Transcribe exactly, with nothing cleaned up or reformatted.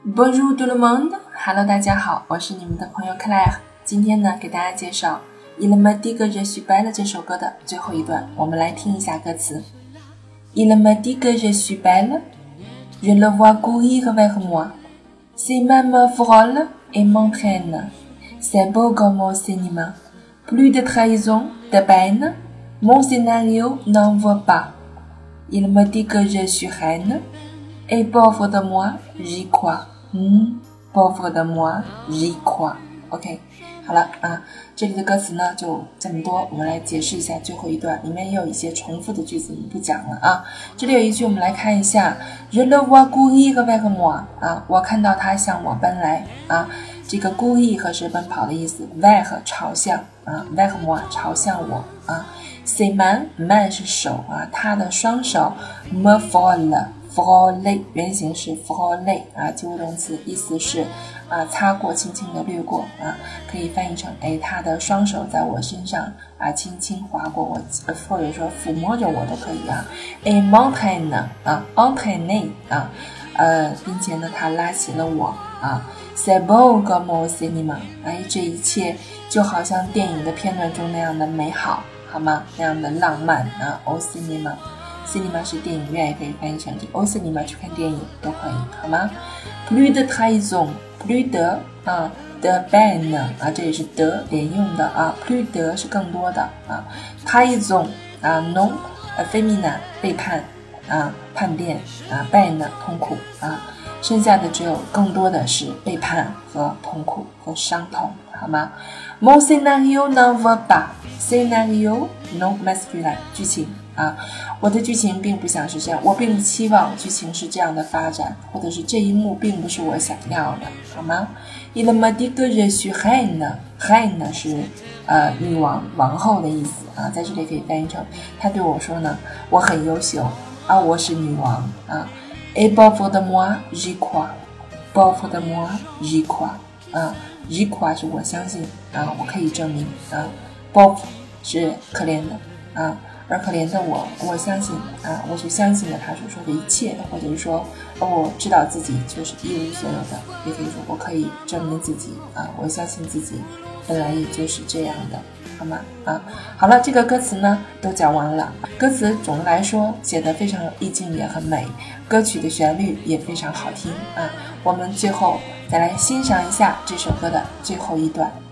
Bonjour tout le monde, Hello 大家好，我是你们的朋友 Claire。今天呢，给大家介绍 Il me dit que je suis belle 这首歌的最后一段，我们来听一下歌词。Il me dit que je suis belle, je le vois courir vers moi. Ses mains me frôlent et m'entraînent. C'est beau comme au cinéma. Plus de trahison, de peine, mon scénario n'en vaut pas. Il me dit que je suis reine, et pauvre de moi, j'y crois. 嗯 pauvre de moi, j'y crois. OK, 好了啊，这里的歌词呢就这么多，我们来解释一下最后一段，里面也有一些重复的句子，我们不讲了啊。这里有一句，我们来看一下 Je le vois courir vers moi 啊，我看到他向我奔来啊。这个 courir 是奔跑的意思 vers 朝向啊 vers moi 朝向我啊。Ses mains mains 是手啊，他的双手 me frôlent frôler 原型是 frôler 啊，及物动词，意思是啊擦过，轻轻的掠过啊，可以翻译成哎，他的双手在我身上啊轻轻划过我，或者说抚摸着我都可以啊。Et m'entraîne 啊 entraîner 啊，呃，并且呢，他拉起了我啊。C'est beau comme au cinéma 哎，这一切就好像电影的片段中那样的美好，好吗？那样的浪漫啊 au cinéma。cinema 是电影院，也可以翻译成 au cinéma 去看电影都可以，好吗 ？Plus de trahison, plus de 啊 de peine 啊，这也是的连用的啊 ，plus de 是更多的啊 ，trahison 啊 non féminin 背叛啊叛变啊 peine 痛苦啊，剩下的只有更多的是背叛和痛苦和伤痛，好吗 ？Mon scénario n'en vaut pas, scénario non masculin 剧情。啊，我的剧情并不想是这样，我并不期望剧情是这样的发展，或者是这一幕并不是我想要的，好吗 ？Il me dit que je suis reine, reine 是呃女王、王后的意思啊，在这里可以翻译成他对我说呢，我很优秀啊，我是女王啊。Et pauvre de moi, j'y crois, pauvre de moi, j'y crois 啊 ，j'y crois 是我相信啊，我可以证明啊 ，pauvre 是可怜的啊。而可怜的我，我相信啊，我是相信了他所说的一切，或者是说，我知道自己就是一无所有的，也可以说我可以证明自己啊，我相信自己本来也就是这样的，好吗？啊，好了，这个歌词呢都讲完了。歌词总的来说写得非常有意境，也很美，歌曲的旋律也非常好听啊。我们最后再来欣赏一下这首歌的最后一段。